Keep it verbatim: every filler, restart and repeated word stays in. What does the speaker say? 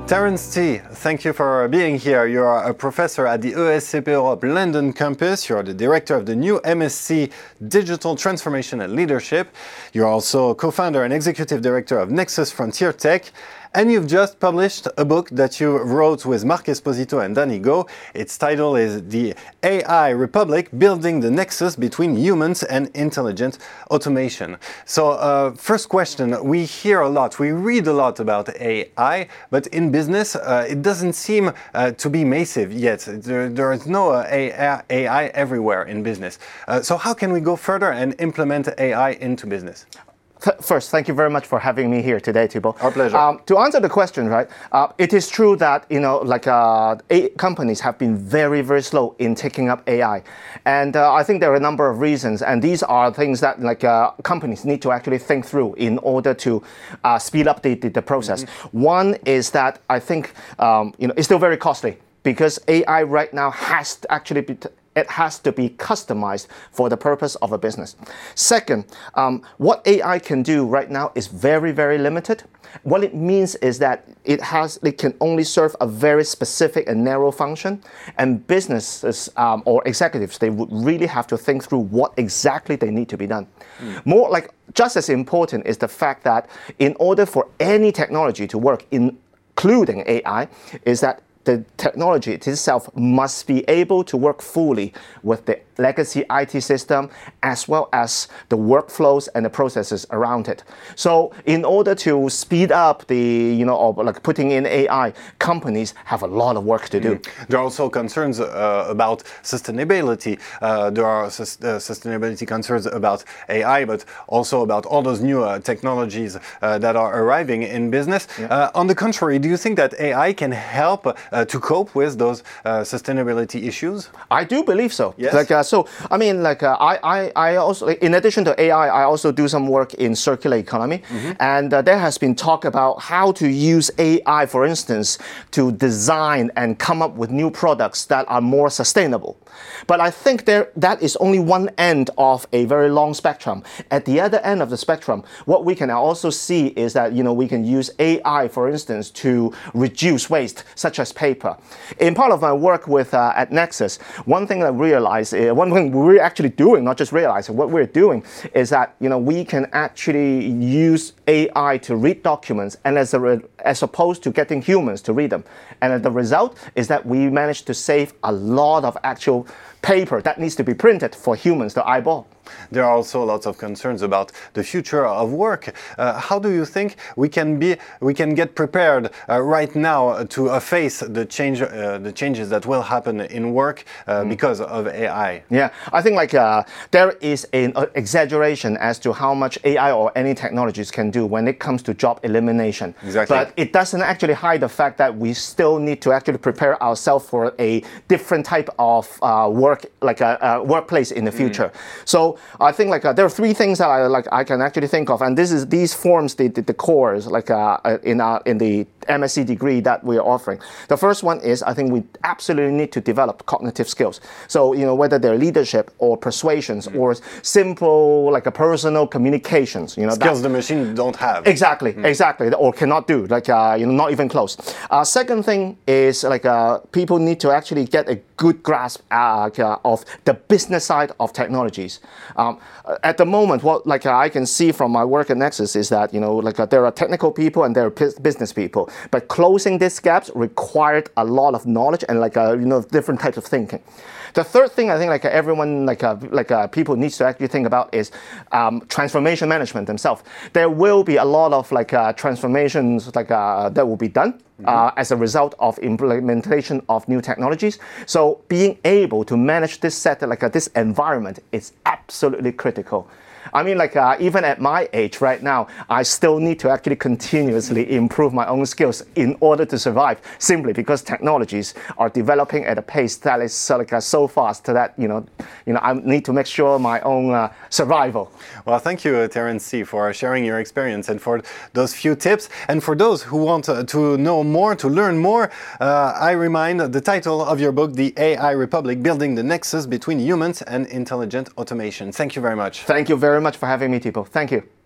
Terence T, thank you for being here. You are a professor at the E S C P Europe London campus. You are the director of the new M S c Digital Transformation and Leadership. You're also co-founder and executive director of Nexus Frontier Tech. And you've just published a book that you wrote with Marc Esposito and Danny Go. Its title is The A I Republic, Building the Nexus Between Humans and Intelligent Automation. So uh, first question, we hear a lot, we read a lot about A I, but in business uh, it doesn't seem uh, to be massive yet. There, there is no uh, A I everywhere in business. Uh, so how can we go further and implement A I into business? First, thank you very much for having me here today, Thibault. Our pleasure. Um, to answer the question, right, uh, it is true that, you know, like uh, a- companies have been very, very slow in taking up A I. And uh, I think there are a number of reasons, and these are things that like uh, companies need to actually think through in order to uh, speed up the, the, the process. Mm-hmm. One is that I think, um, you know, it's still very costly because A I right now has to actually be t- it has to be customized for the purpose of a business. Second, um, what A I can do right now is very, very limited. What it means is that it has, it can only serve a very specific and narrow function, and businesses um, or executives, they would really have to think through what exactly they need to be done. Mm. More like, just as important is the fact that in order for any technology to work, including A I, is that the technology itself must be able to work fully with the legacy I T system as well as the workflows and the processes around it. So in order to speed up the, you know, or like putting in A I, companies have a lot of work to do. Mm. There are also concerns uh, about sustainability. Uh, there are sus- uh, sustainability concerns about A I, but also about all those new uh, technologies uh, that are arriving in business. Yeah. Uh, on the contrary, do you think that A I can help uh, to cope with those uh, sustainability issues? I do believe so. Yes. Like, uh, so, I mean, like, uh, I, I, I also, in addition to A I, I also do some work in circular economy. Mm-hmm. And uh, there has been talk about how to use A I, for instance, to design and come up with new products that are more sustainable. But I think there that is only one end of a very long spectrum. At the other end of the spectrum, what we can also see is that, you know, we can use A I, for instance, to reduce waste, such as paper. In part of my work with uh, at Nexus, one thing I realized, uh, one thing we're actually doing, not just realizing, what we're doing is that, you know, we can actually use A I to read documents, and as a re- as opposed to getting humans to read them. And the result is that we managed to save a lot of actual paper that needs to be printed for humans to eyeball. There are also lots of concerns about the future of work. Uh, how do you think we can be, we can get prepared uh, right now to uh, face the change, uh, the changes that will happen in work uh, mm. because of A I? Yeah, I think like uh, there is an uh, exaggeration as to how much A I or any technologies can do when it comes to job elimination. Exactly. But it doesn't actually hide the fact that we still need to actually prepare ourselves for a different type of uh, work, like a, a workplace in the future. Mm. So I think like uh, there are three things that I like I can actually think of, and this is these forms the the, the cores like uh, in uh, in the M S c degree that we are offering. The first one is I think we absolutely need to develop cognitive skills. So you know whether they're leadership or persuasions mm. or simple like a personal communications. You know skills the machine don't have. Exactly, mm. exactly, or cannot do. Like uh, you know not even close. Uh, second thing is like uh, people need to actually get a good grasp uh, of the business side of technologies. Um, at the moment, what like uh, I can see from my work at Nexus is that you know like uh, there are technical people and there are p- business people, but closing these gaps required a lot of knowledge and like uh, you know different types of thinking. The third thing I think like uh, everyone like uh, like uh, people needs to actually think about is um, transformation management themselves. There will be a lot of like uh, transformations like uh, that will be done. Uh, as a result of implementation of new technologies. So being able to manage this set, like uh, this environment is absolutely critical. I mean, like uh, even at my age right now, I still need to actually continuously improve my own skills in order to survive, simply because technologies are developing at a pace that is uh, like uh, so fast that, you know, you know, I need to make sure my own uh, survival. Well, thank you, uh, Terence C, for sharing your experience and for those few tips. And for those who want uh, to know more, to learn more, uh, I remind the title of your book, The A I Republic, Building the Nexus Between Humans and Intelligent Automation. Thank you very much. Thank you very much for having me, Thibault. Thank you.